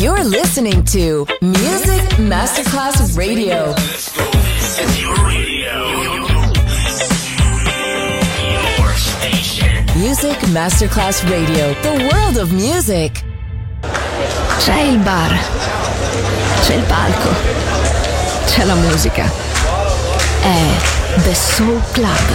You're listening to Music Masterclass Radio. Your radio. Your station. Music Masterclass Radio. The world of music. C'è il bar. C'è il palco. C'è la musica. È The Soul Club.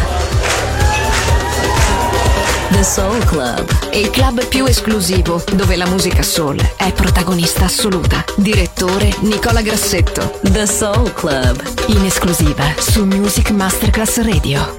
The Soul Club. Il club più esclusivo, dove la musica soul è protagonista assoluta. Direttore Nicola Grassetto. The Soul Club. In esclusiva su Music Masterclass Radio.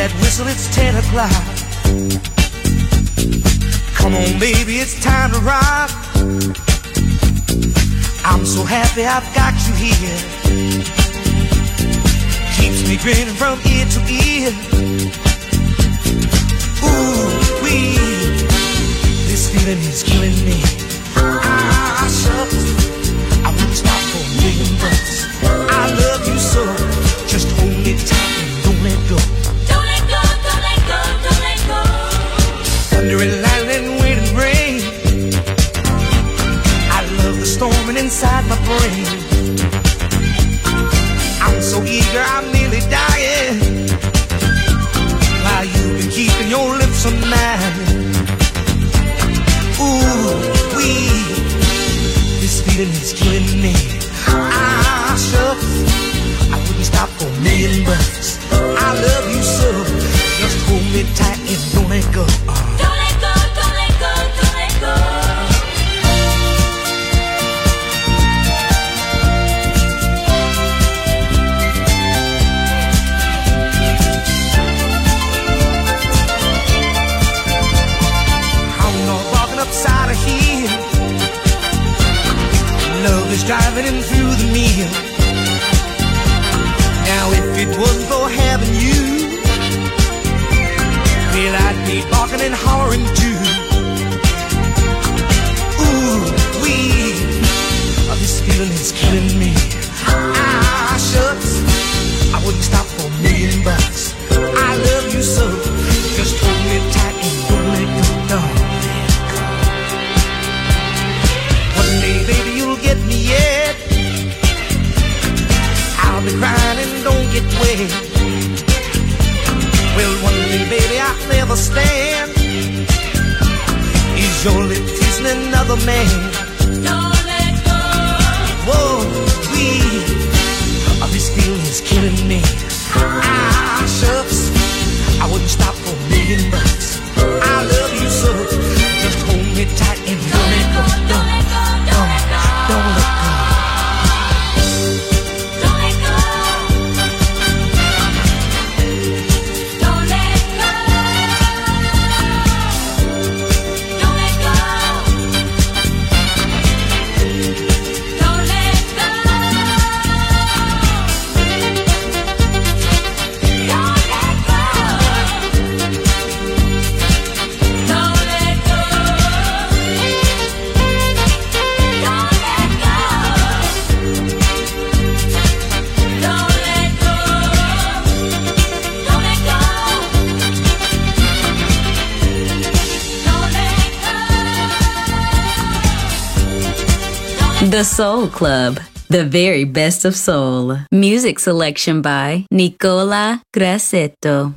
that whistle, it's 10 o'clock. Come on, baby, it's time to rock. I'm so happy I've got you here. Keeps me grinning from ear to ear. Ooh, wee, this feeling is killing me. Ah, shucks, I won't stop for $1 million. I love you so, just hold me tight and don't let go. Don't let go, don't let go, don't let go. Thunder and lightning, wind and rain. I love the storming inside my brain. I'm so eager, I'm nearly dying. While you've been keeping your lips on mine. Ooh, wee, this feeling is killing me. Ah, shucks, I wouldn't stop for $1 million. I love you so, just hold me tight and don't let go. Don't let go, don't let go, don't let go. I'm not walking upside a hill. Love is driving in through the meal. Now if it wasn't for having you, well, I'd be barking and hollering too. Ooh, wee, this feeling is killing me. Ah, shucks, I wouldn't stop for $1 million. I love you so, just hold me tight and don't let go. Don't let go. One day, baby, you'll get me yet. I'll be crying and don't get wet. Well, one day, baby, I'll never stand. Is your lip kissing another man? Don't let go. Whoa, wee, this feeling is killing me. Ah, shucks, I wouldn't stop for $1 million. I love you so, just hold me tight and don't let go. Don't let go, don't let go. Don't let go. Don't let go. Don't let go. Don't let go. Don't let go. The Soul Club, the very best of soul. Music selection by Nicola Grassetto.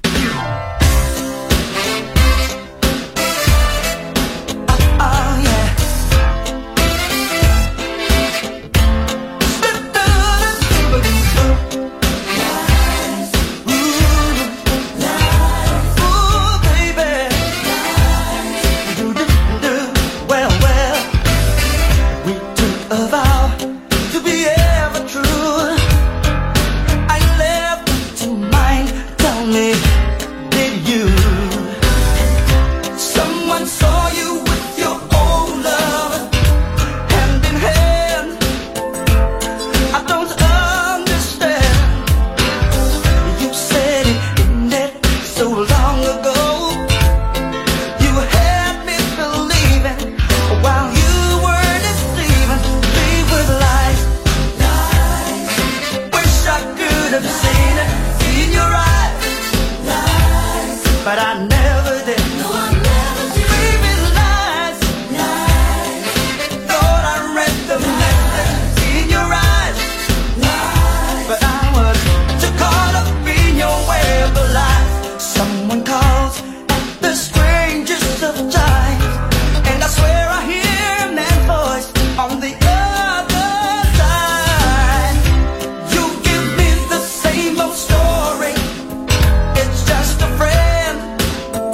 Story. It's just a friend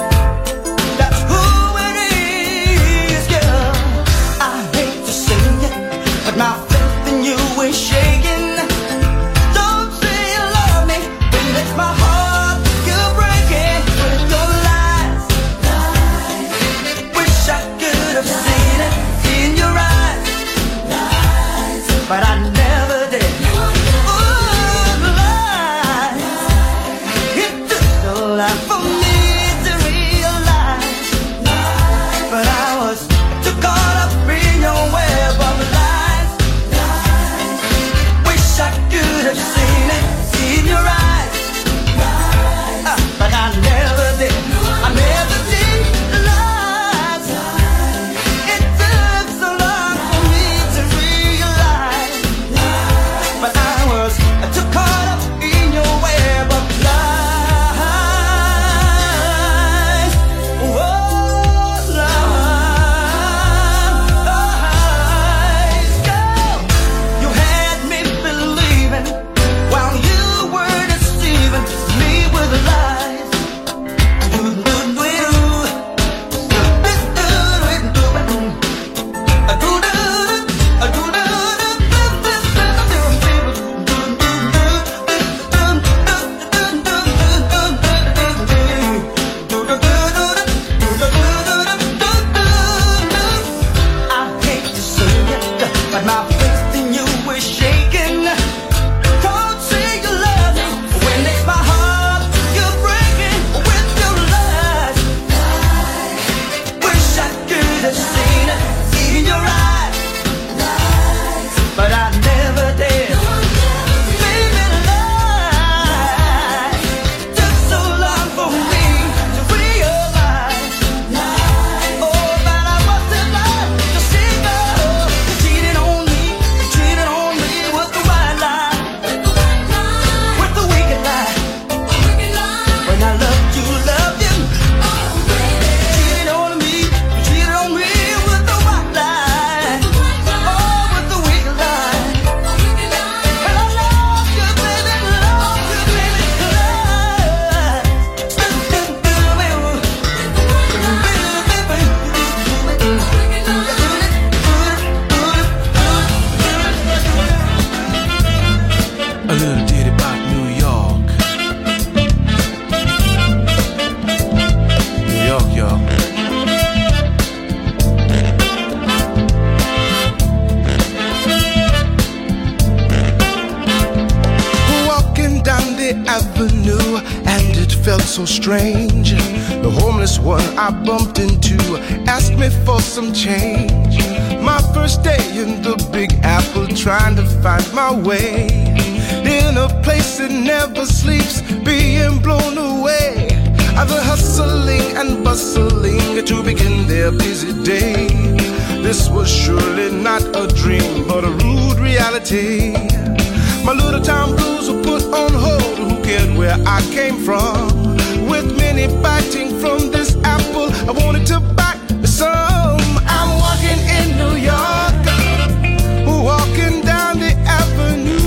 avenue, and it felt so strange. The homeless one I bumped into asked me for some change. My first day in the Big Apple, trying to find my way in a place that never sleeps, being blown away. The hustling and bustling to begin their busy day. This was surely not a dream, but a rude reality. My little town blues were put on hold. Who cared where I came from? With many biting from this apple, I wanted to bite some. I'm walking in New York, walking down the avenue.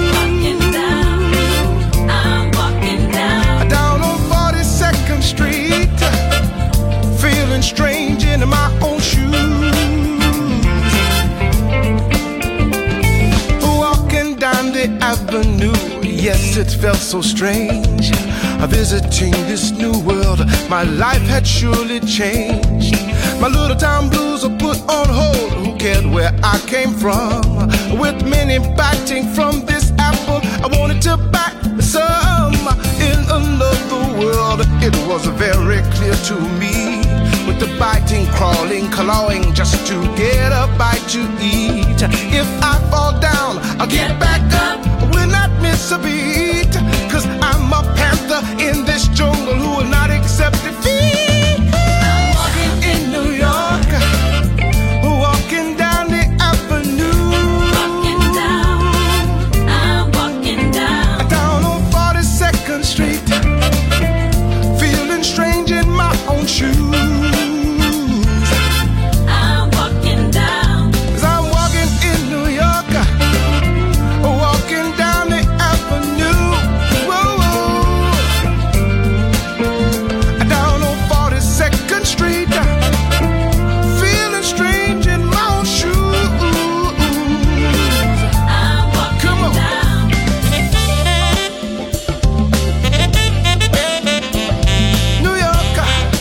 Street, feeling strange in my own shoes. Walking down the avenue, yes, it felt so strange. Visiting this new world, my life had surely changed. My little town blues are put on hold. Who cared where I came from? With many biting from this apple, I wanted to bite some. In another world, it was very clear to me. With the biting, crawling, clawing, just to get a bite to eat. If I fall down, I'll get back up. Will not miss a beat. 'Cause I'm a panther in this jungle who will not accept defeat. I'm walking in New York, walking down the avenue. Walking down, I'm walking down. Down on 42nd Street, feeling strange in my own shoes. I'm walking down. 'Cause I'm walking in New York, walking down the avenue. Whoa, whoa. Down on 42nd Street, feeling strange in my own shoes. I'm walking Come on. down. New York,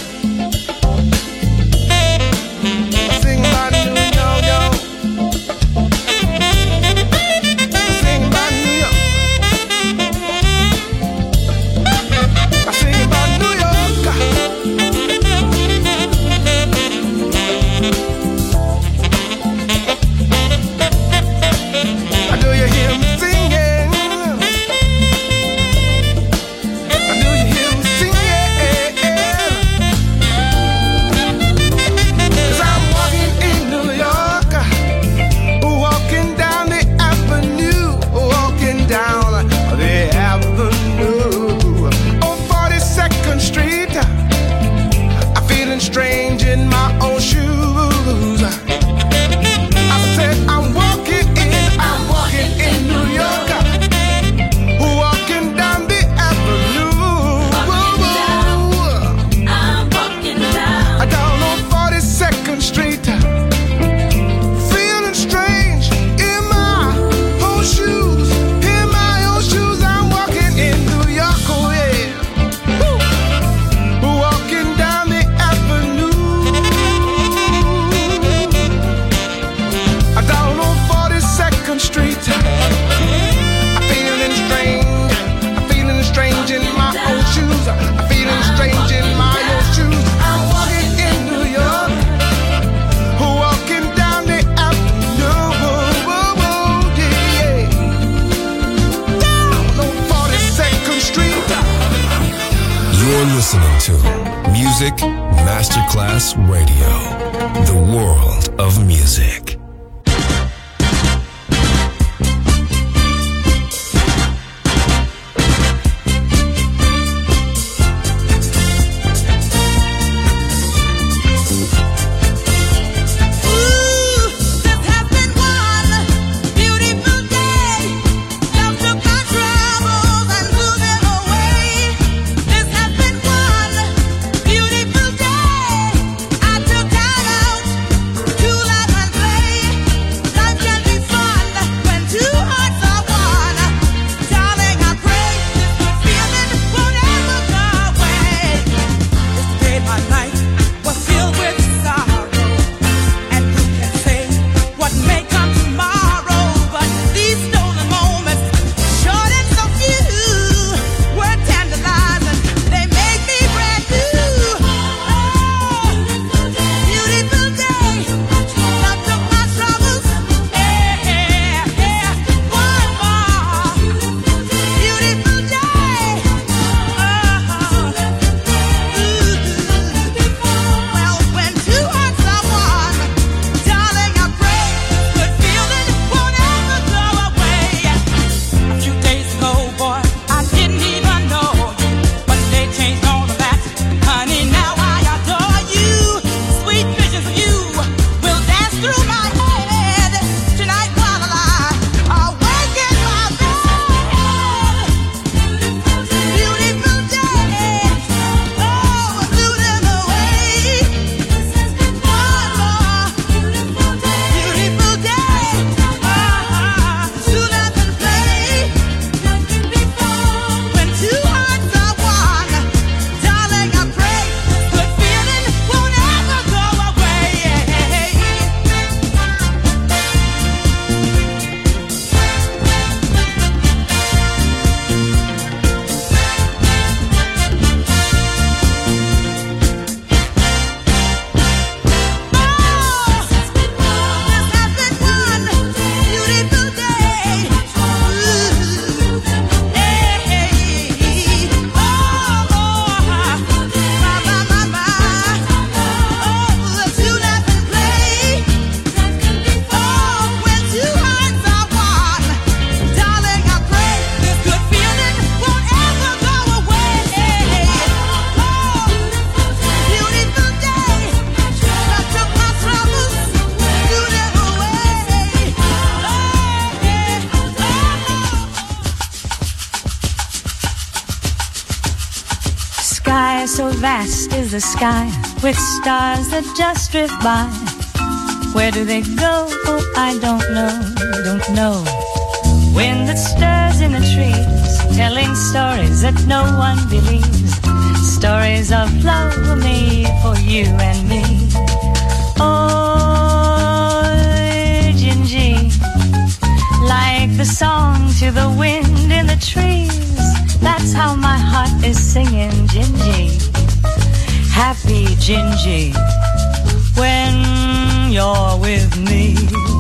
sing about New York, yo. Sing about New York. I sing about New York. I do you hear me singing? I do you hear me singing? 'Cause I'm walking in New York, walking down the avenue, walking down the avenue. On 42nd Street, I'm feeling strange in my own shoes. I said I'm walking in New York, walking down the avenue. Whoa, whoa. I'm walking down. Down on 42nd Street, feeling strange in my own shoes. In my own shoes, I'm walking in New York, oh yeah. Woo. Walking down the avenue. Down on 42nd Street, I'm feeling strange in my own shoes. I'm feeling strange in my own shoes. I'm walking in New York, walking down the avenue. Whoa, whoa, whoa, yeah. Down on 42nd Street. You're listening to Music Masterclass Radio, the world of music. This has been one beautiful day. Love took my troubles and blew them away. This has been one beautiful day. I took time out to laugh and play. sky, so vast is the sky, with stars that just drift by. Where do they go? Oh, I don't know. Wind that stirs in the trees, telling stories that no one believes. Stories of love made for you and me. Oh, Gingy, like the song to the wind in the trees. That's how my heart is singing, Gingy. Happy Gingy, when you're with me.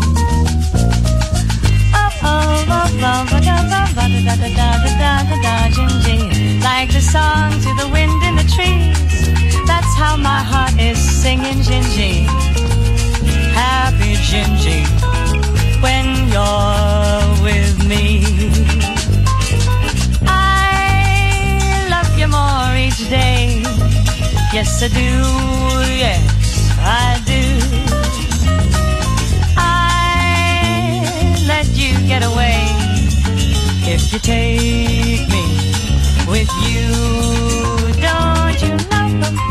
Gingy, like the song to the wind in the trees. That's how my heart is singing, Gingy. Happy Gingy, when you're with me. I love you more each day. Yes, I do, yes, I do. I let you get away if you take me with you. Don't you know?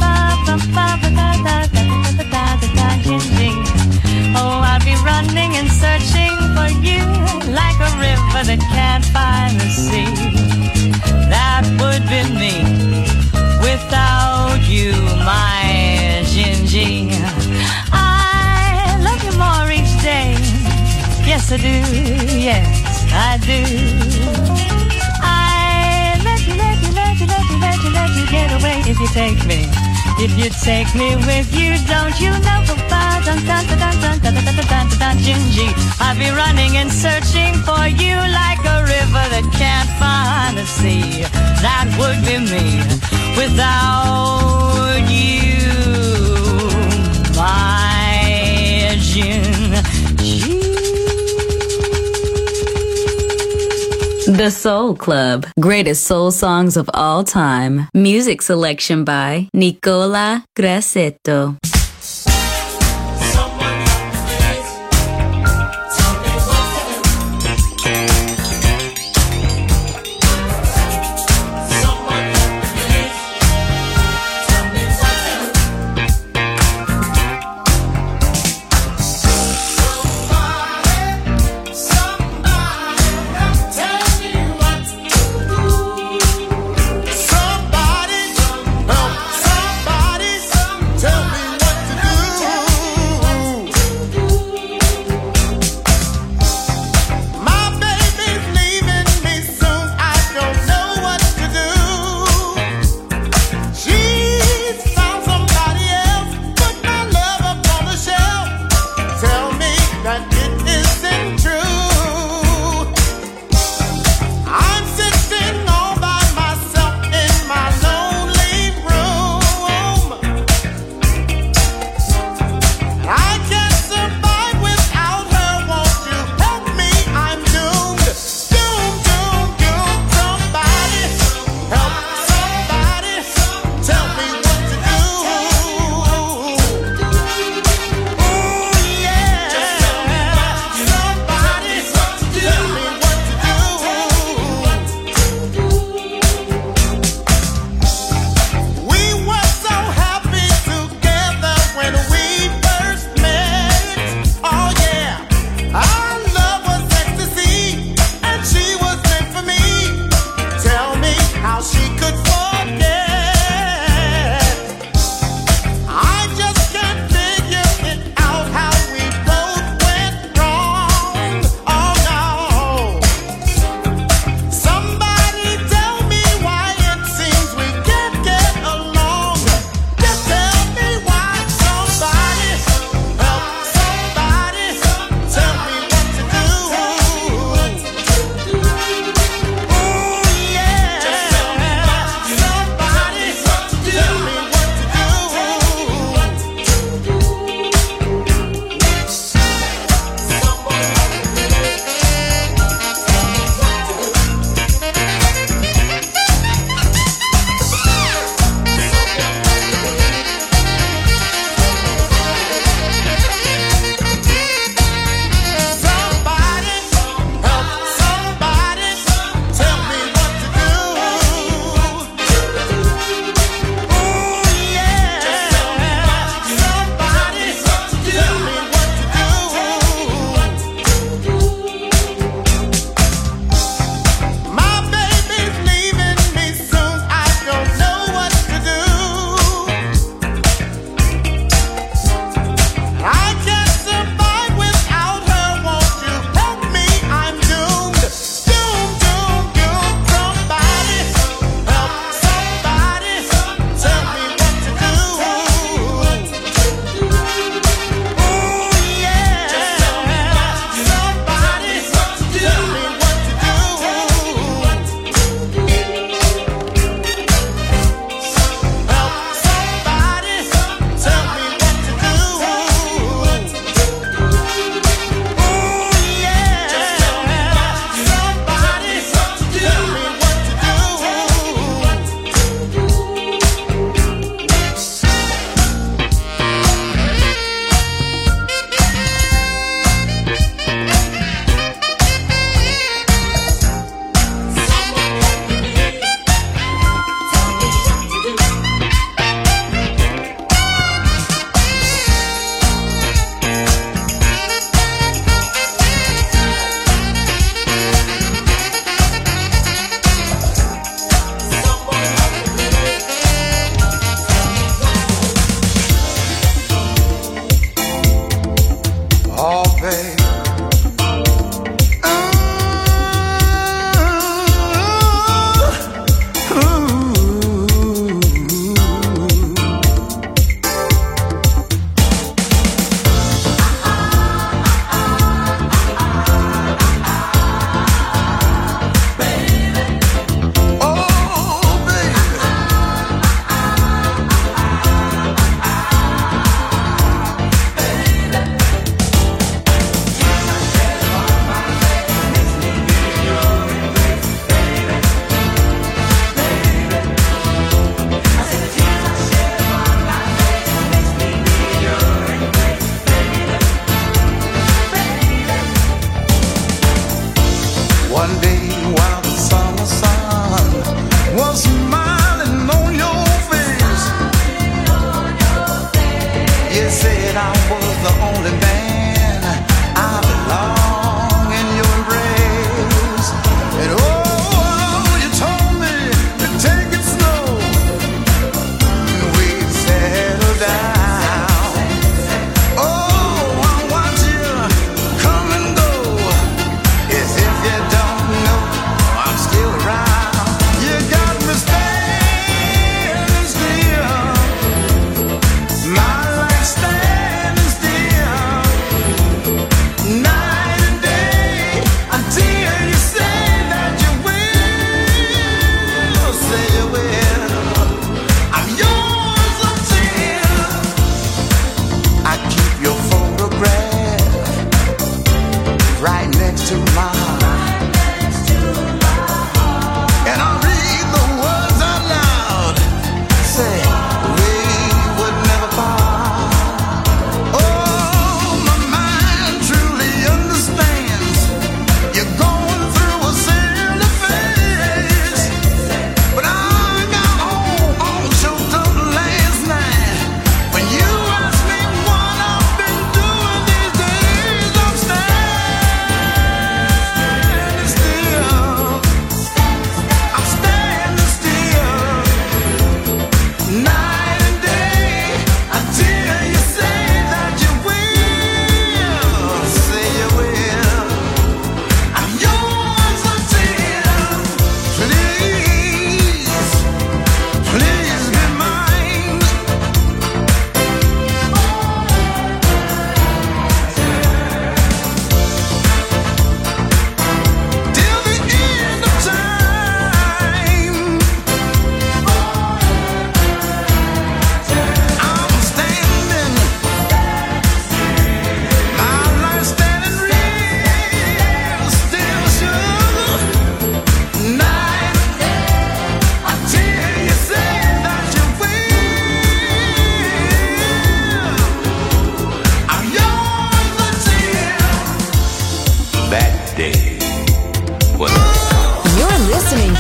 Oh, I'll be running and searching for you like a river that can't find the sea. That would be me without you, my Gingy. I love you more each day. Yes, I do. Yes, I do. I let you get away if you take me. If you take me with you, don't you know? Gingy, I'll be running and searching for you like a river that can't find the sea. That would be me without you, my Gingy. The Soul Club. Greatest soul songs of all time. Music selection by Nicola Grassetto. Somebody, tell me what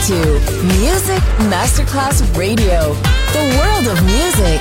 to Music Masterclass Radio, the world of music.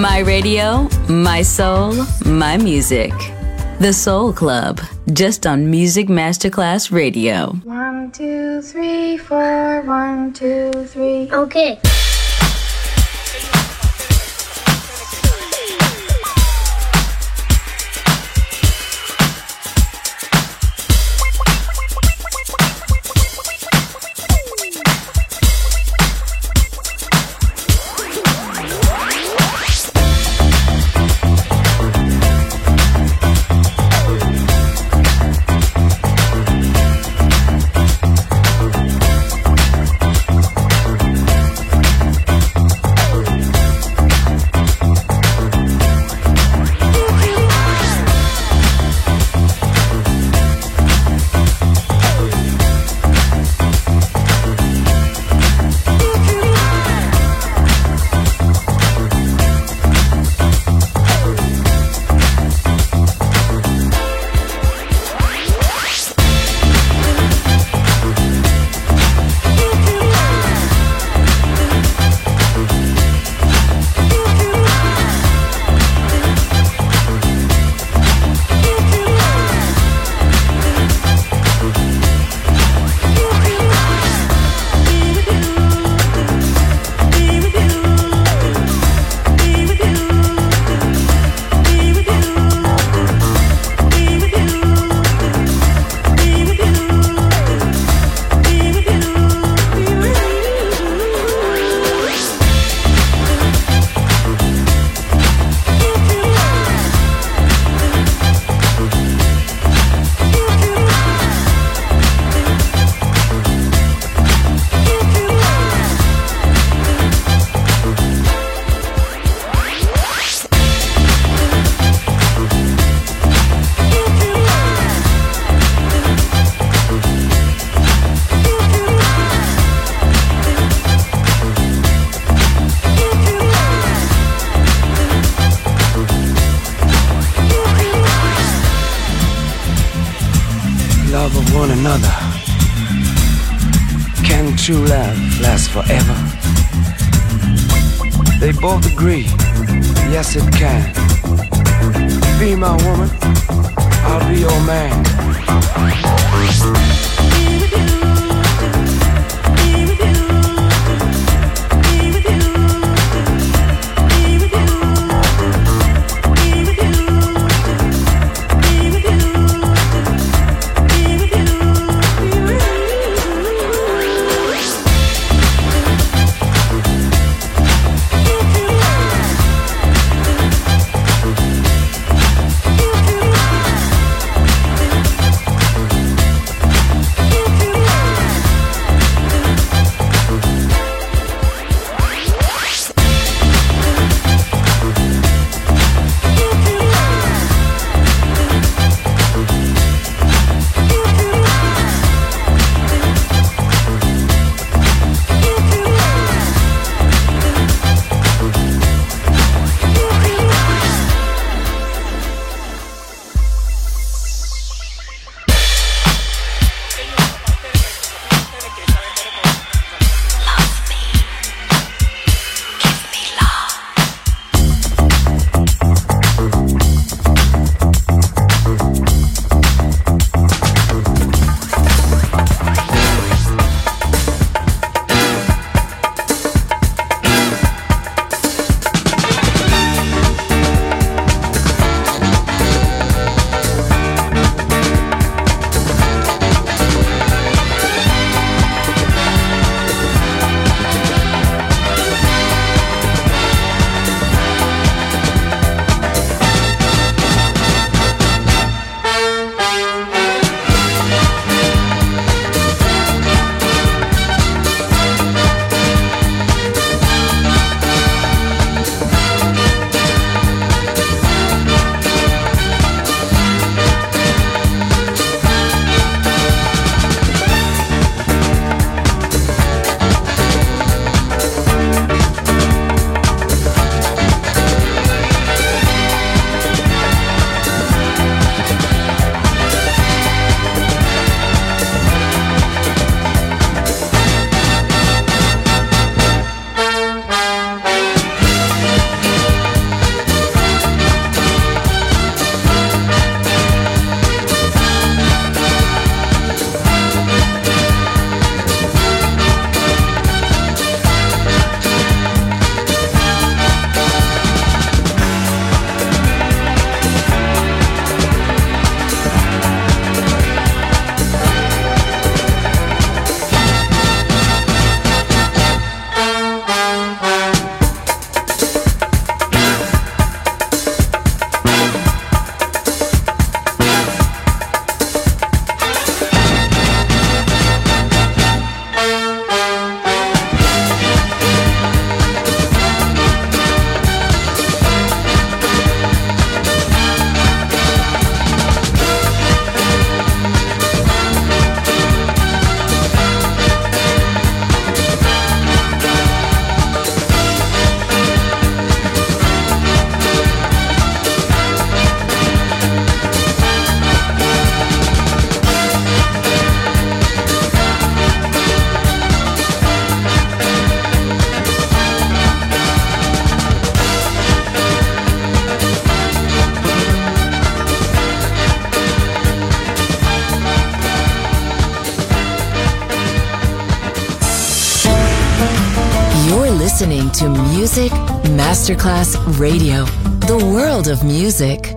My radio, my soul, my music. The Soul Club, just on Music Masterclass Radio. 1, 2, 3, 4, 1, 2, 3. Okay. True love lasts forever. They both agree, yes it can. Be my woman, I'll be your man. listening to Music Masterclass Radio, the world of music.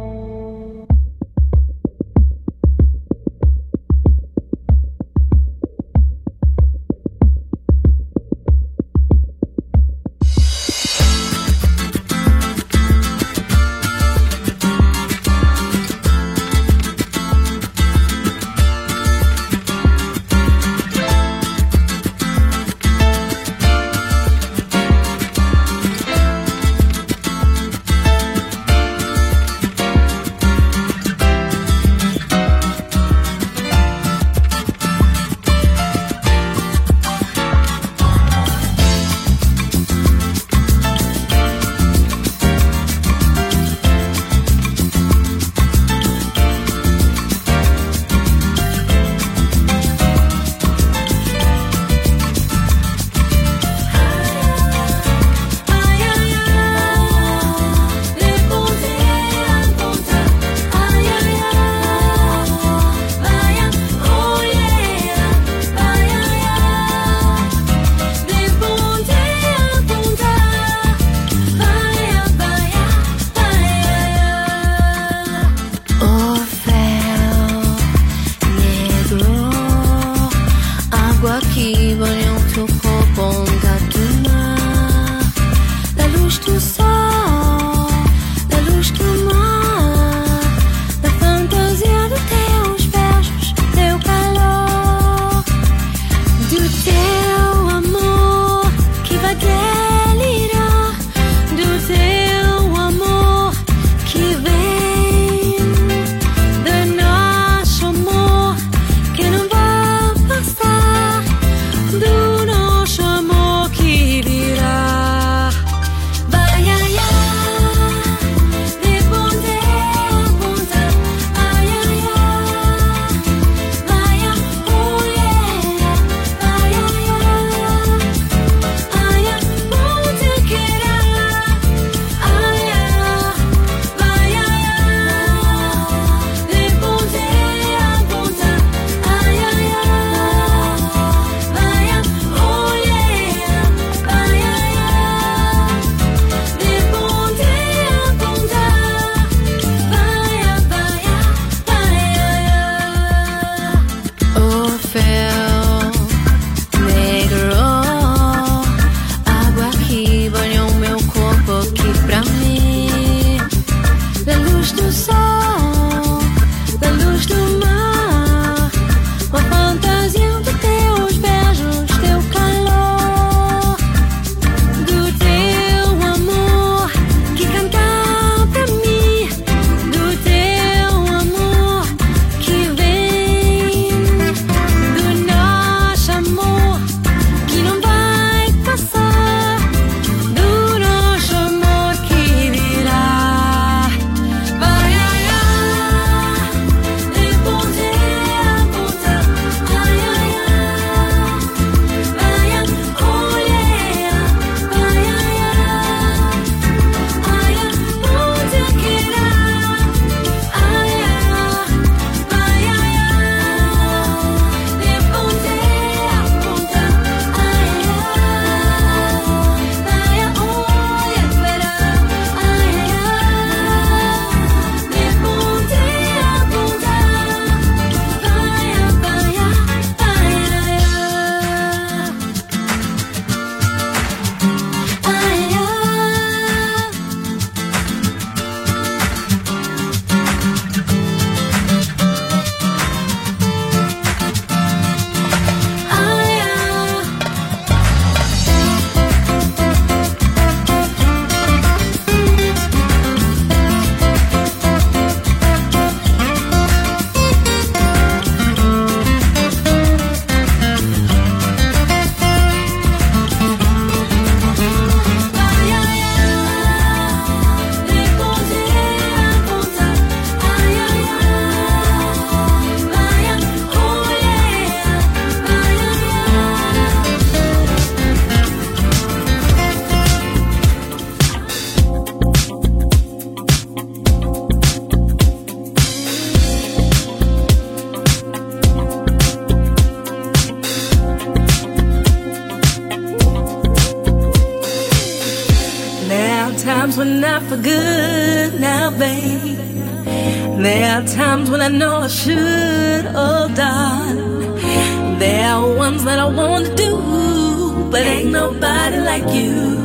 not for good now, babe. There are times when I know I should, oh darling. There are ones that I want to do, but ain't nobody like you.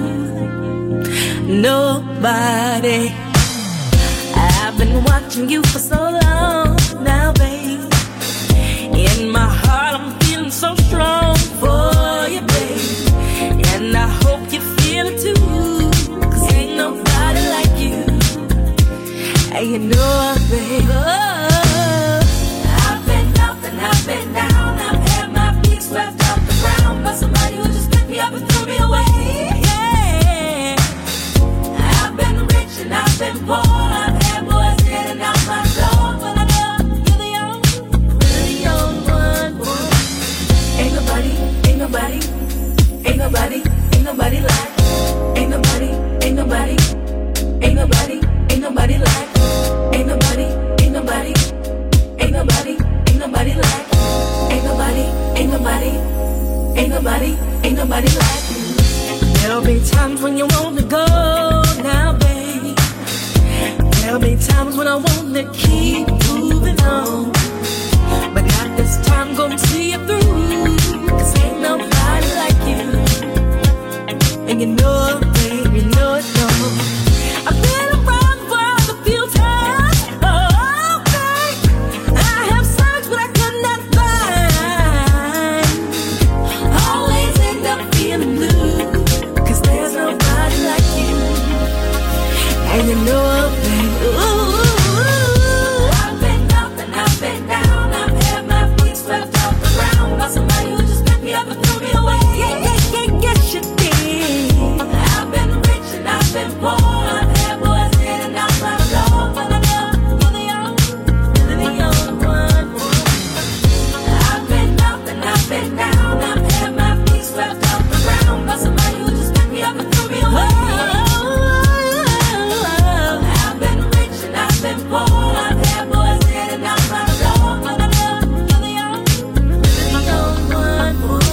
Nobody. I've been watching you for so long now, babe. In my heart I'm feeling so strong for you, babe. And I hope you feel it too, 'cause ain't nobody like you. And you know, babe, I've been up and I've been down. I've had my feet swept off the ground by somebody who just picked me up and threw me away. Yeah. I've been rich and I've been poor. I've had boys in and out my door, but I know you're the only one. Ain't nobody, ain't nobody, ain't nobody, ain't nobody like. Ain't nobody, ain't nobody, ain't nobody, ain't nobody like. Ain't nobody, ain't nobody, ain't nobody, ain't nobody like. Ain't nobody, ain't nobody, ain't nobody, ain't nobody like you. There'll be times when you want to go now, babe. There'll be times when I want to keep moving on, but not this time, gonna see you through, 'cause ain't nobody like you. And you know it, babe, you know it, no. I've been around the world a few times, oh, babe. I have searched but I could not find. Always end up feeling blue, 'cause there's nobody like you. And you know it, babe, ooh. I've been up and I've been down. I've had my feet swept off the ground by somebody who just picked me up and threw me away. Yeah, yeah, yeah, yes you did. I've been rich and I've been poor. I've had boys in and out my door, but I know you're the only one. I've been up and I've been down. I've had my feet swept off the ground by somebody who just picked me up and threw me away. I've been rich and I've been poor. I've had boys in and out my door, but I know you're the only one.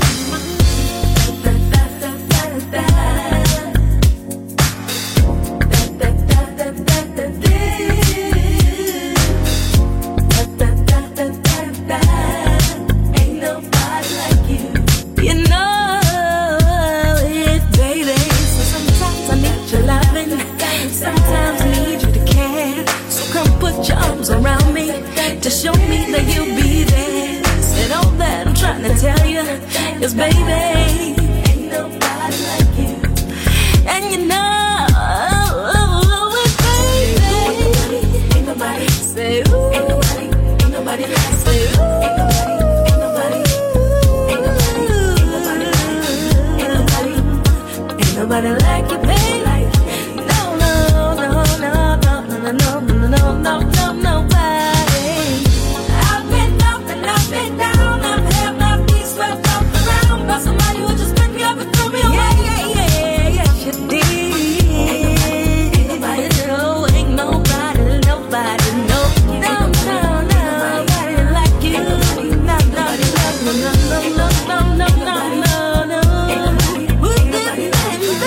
Ain't nobody like you. You know it, baby. So sometimes I need your loving, sometimes I need you to care. So come put your arms around me to show me that you'll be there. Said all that I'm trying to tell you is, baby, ain't nobody like you. And you know it, baby. Ain't nobody. Say ooh. Ain't nobody. Ain't nobody like. Say ooh. Ain't nobody. Ain't nobody. Ain't nobody. Ain't nobody like. Ain't nobody. Ain't nobody like you, baby. No, no, no, no, no, no, no, no, no, no, no, nobody. I've been up and I've been down. I've had my feet swept off the ground by somebody who just picked me up and threw me away. Yeah, yeah, yeah, yes you did. Ain't nobody, no, ain't nobody, nobody, no, no, no, nobody like you. No, no, no, no, no, no, no, no, no, no, no. Ain't nobody like you.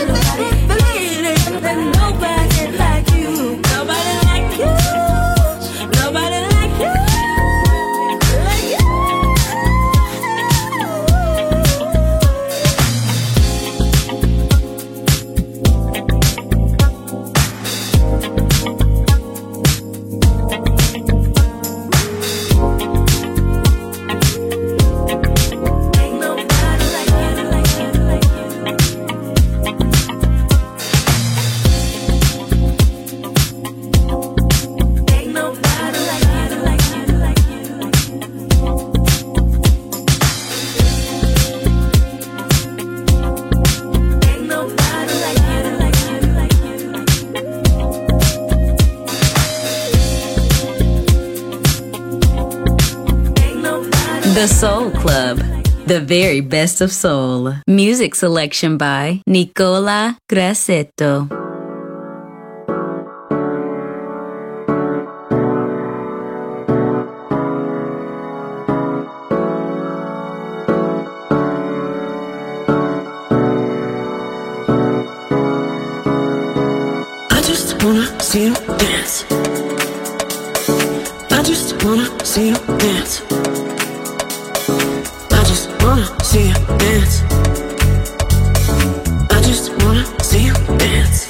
Nobody like you. Nobody like you. Nobody like you. Like you. Ain't nobody like you, like you, like you. Ain't nobody like you, like you, like you. Ain't nobody like you, like you, like you. Ain't nobody. The Soul Club, the very best of soul. Music selection by Nicola Grassetto. I see you dance. I just wanna see you dance. I just wanna see you dance.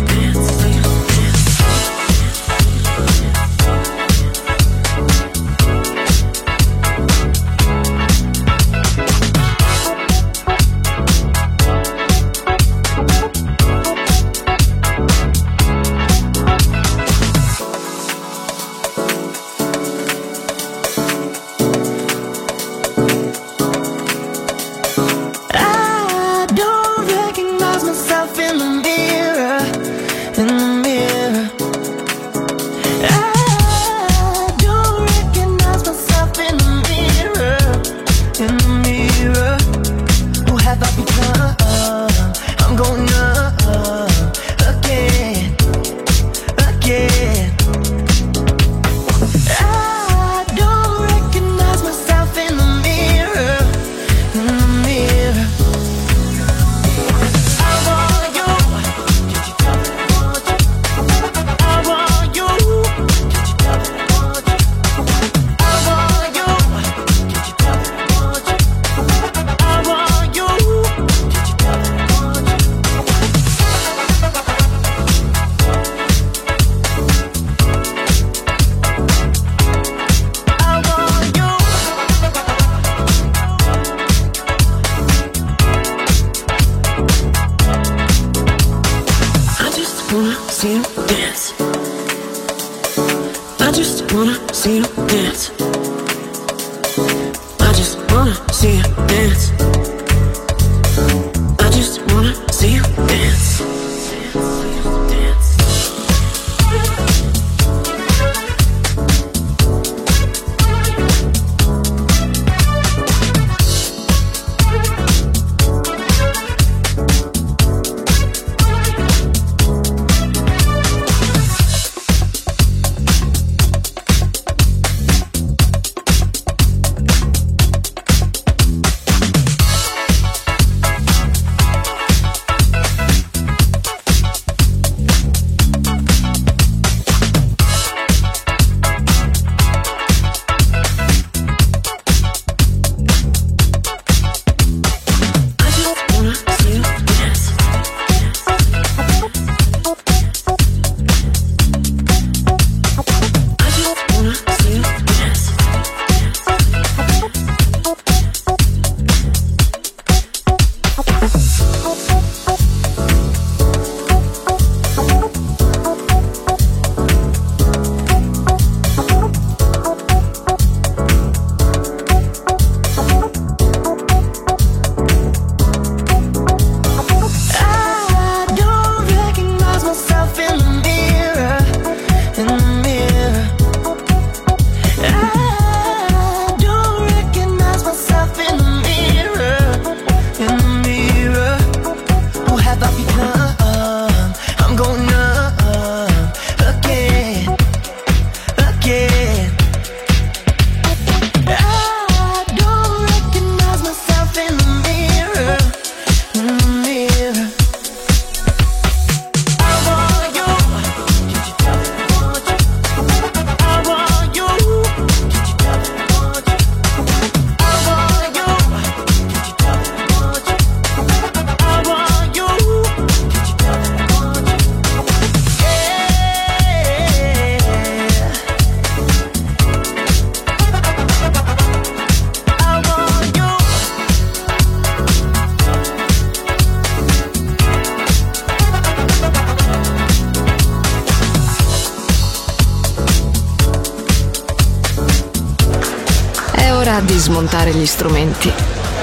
Di smontare gli strumenti,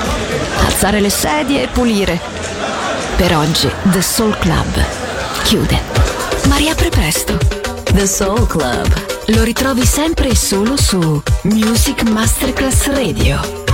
alzare le sedie e pulire. Per oggi The Soul Club chiude, ma riapre presto. The Soul Club lo ritrovi sempre e solo su Music Masterclass Radio.